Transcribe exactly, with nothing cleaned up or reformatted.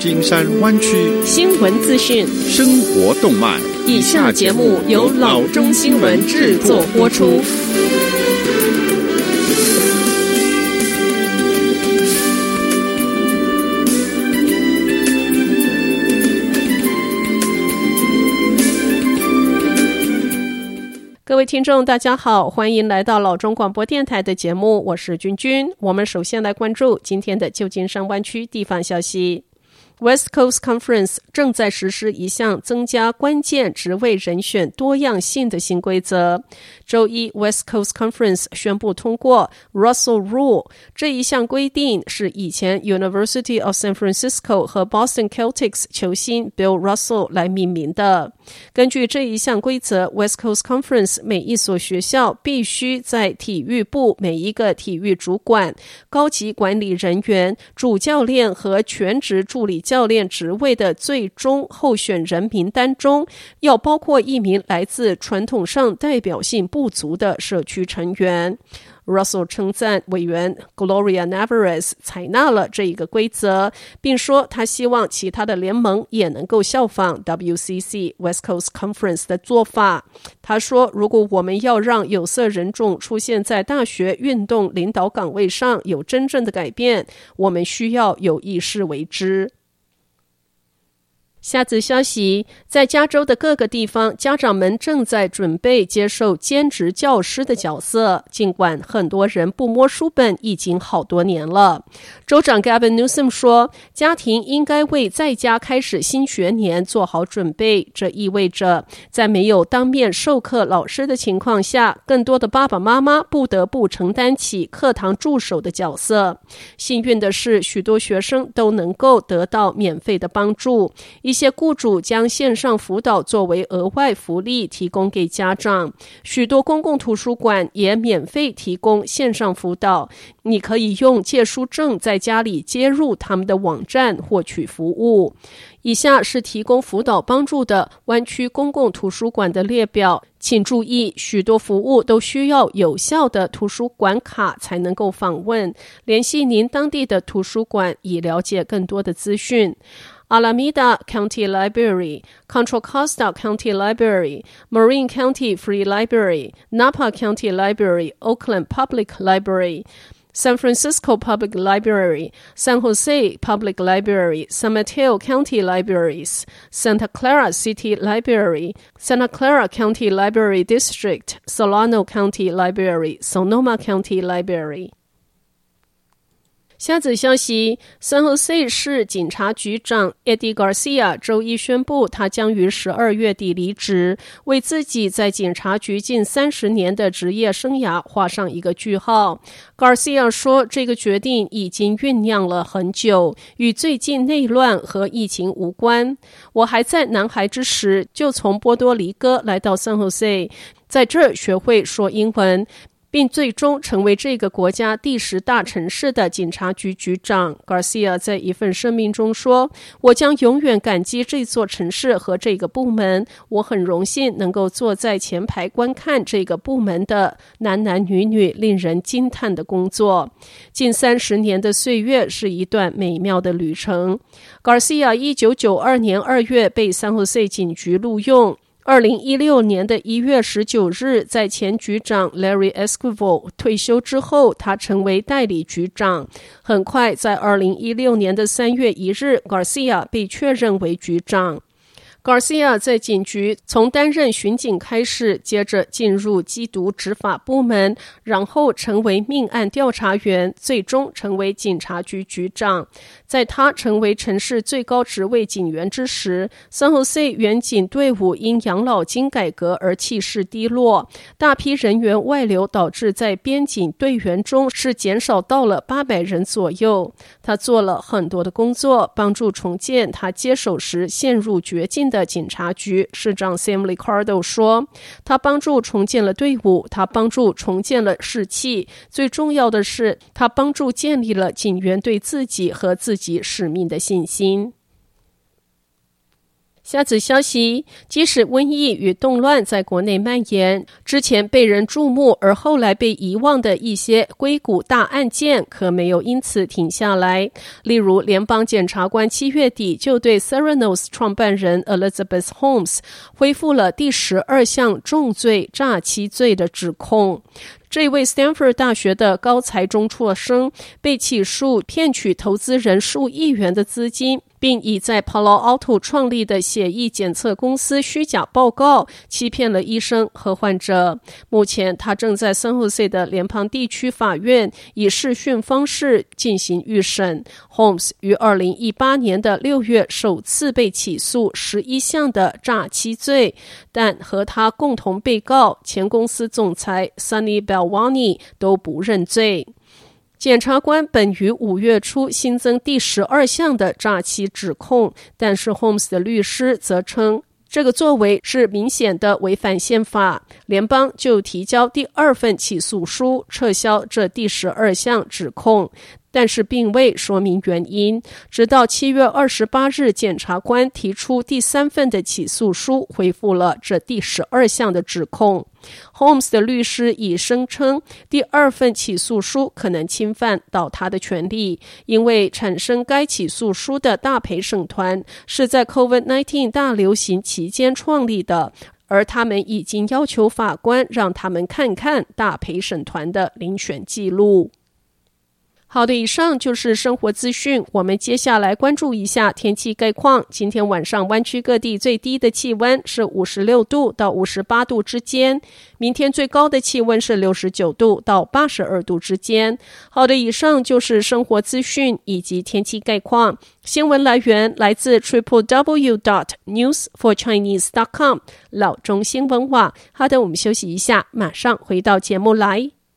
金山灣區新聞資訊、 生活動脈。 以下節目由老中新聞製作播出。各位聽眾大家好，歡迎來到老中廣播電臺的節目，我是君君。我們首先來關注今天的舊金山灣區地方消息。West Coast Conference 正在實施一項增加關鍵職位人選多樣性的新規則。周一 West Coast Conference 宣布通過 Russell Rule， 這一項規定是以前 University of San Francisco 和 Boston Celtics 球星 Bill Russell 來命名的。根據這一項規則， West Coast Conference 每一所學校必須在體育部每一個體育主管、高級管理人員、主教練和全職助理教練職位的最終候選人名單中，要包括一名來自傳統上代表性不足的社區成員。Russell 稱讚委員 Gloria Nevarez 採納了這一個規則，並說他希望其他的聯盟也能夠效仿 W C C West Coast Conference 的做法。他說，如果我們要讓有色人種出現在大學運動領導崗位上有真正的改變，我們需要有意識為之。下則消息，在加州的各個地方，家長們正在準備接受兼職教師的角色，儘管很多人不摸書本已經好多年了。州長 Gavin Newsom 說，家庭應該為在家開始新學年做好準備，這意味着在沒有當面授課老師的情況下，更多的爸爸媽媽不得不承擔起課堂助手的角色。幸運的是，許多學生都能夠得到免費的幫助。一些雇主將線上輔導作為額外福利提供給家長，許多公共圖書館也免費提供線上輔導，你可以用借書證在家裡接入他們的網站獲取服務。以下是提供輔導幫助的灣區公共圖書館的列表，請注意，許多服務都需要有效的圖書館卡才能夠訪問，聯繫您當地的圖書館以了解更多的資訊。Alameda County Library, Contra Costa County Library, Marin County Free Library, Napa County Library, Oakland Public Library, San Francisco Public Library, San Jose Public Library, San Mateo County Libraries, Santa Clara City Library, Santa Clara County Library District, Solano County Library, Sonoma County Library。下則消息， San Jose 市警察局長 Eddie Garcia 周一宣布，他將於十二月底離職，為自己在警察局近三十年的職業生涯畫上一個句號。Garcia 說，這個決定已經醞釀了很久，與最近內亂和疫情無關。我還在男孩之時，就從波多黎各來到 San Jose， 在這兒學會說英文，並最終成為這個國家第十大城市的警察局局長。Garcia 在一份聲明中說，我將永遠感激這座城市和這個部門，我很榮幸能夠坐在前排觀看這個部門的男男女女令人驚嘆的工作。近三十年的歲月是一段美妙的旅程。Garcia 一九九二年二月被 San Jose 警局錄用，二零一六年的一月十九日，在前局長 Larry Esquivel 退休之後，他成為代理局長。很快，在二零一六年的三月一日 ，Garcia 被確認為局長。Garcia 在警局從擔任巡警開始，接着進入緝毒執法部門，然後成為命案調查員，最終成為警察局局長。在他成為城市最高職位警員之時， San Jose 遠警隊伍因養老金改革而氣勢低落，大批人員外流導致在邊警隊員中是減少到了八百人左右。他做了很多的工作，幫助重建他接手時陷入絕境的的警察局。市長 Sam Liccardo 說，他幫助重建了隊伍，他幫助重建了士氣，最重要的是他幫助建立了警員對自己和自己使命的信心。 下則消息，即使瘟疫與動亂在國內蔓延，之前被人注目而後來被遺忘的一些硅谷大案件可沒有因此停下來。例如，聯邦檢察官七月底就對 Theranos 創辦人 Elizabeth Holmes 恢復了第十二項重罪詐欺罪的指控。這位 Stanford 大學的高材中輟生被起訴騙取投資人數億元的資金，並以在 Palo Alto 創立的血液檢測公司虛假報告，欺騙了醫生和患者。目前他正在 San Jose 的聯邦地區法院以視訊方式進行預審。Holmes 於二零一八年的六月首次被起訴十一項的詐欺罪，但和他共同被告前公司總裁 Sunny Balwani 都不認罪。檢察官本於五月初新增第十二項的詐欺指控，但是 Holmes 的律師則稱這個作為是明顯的違反憲法，聯邦就提交第二份起訴書，撤銷這第十二項指控，但是並未說明原因。直到七月二十八日，檢察官提出第三份的起訴書，恢復了這第十二項的指控。Holmes 的律師已聲稱，第二份起訴書可能侵犯到他的權利，因為產生該起訴書的大陪審團是在 COVID 十九 大流行期間創立的，而他們已經要求法官讓他們看看大陪審團的遴選記錄。好的，以上就是生活資訊。我們接下來關注一下天氣概況。今天晚上灣區各地最低的氣溫是五十六度到五十八度之間，明天最高的氣溫是六十九度到八十二度之間。好的，以上就是生活資訊以及天氣概況。新聞來源來自 triple w dot news for chinese dot com 老中新聞網。好的，我們休息一下，馬上回到節目來。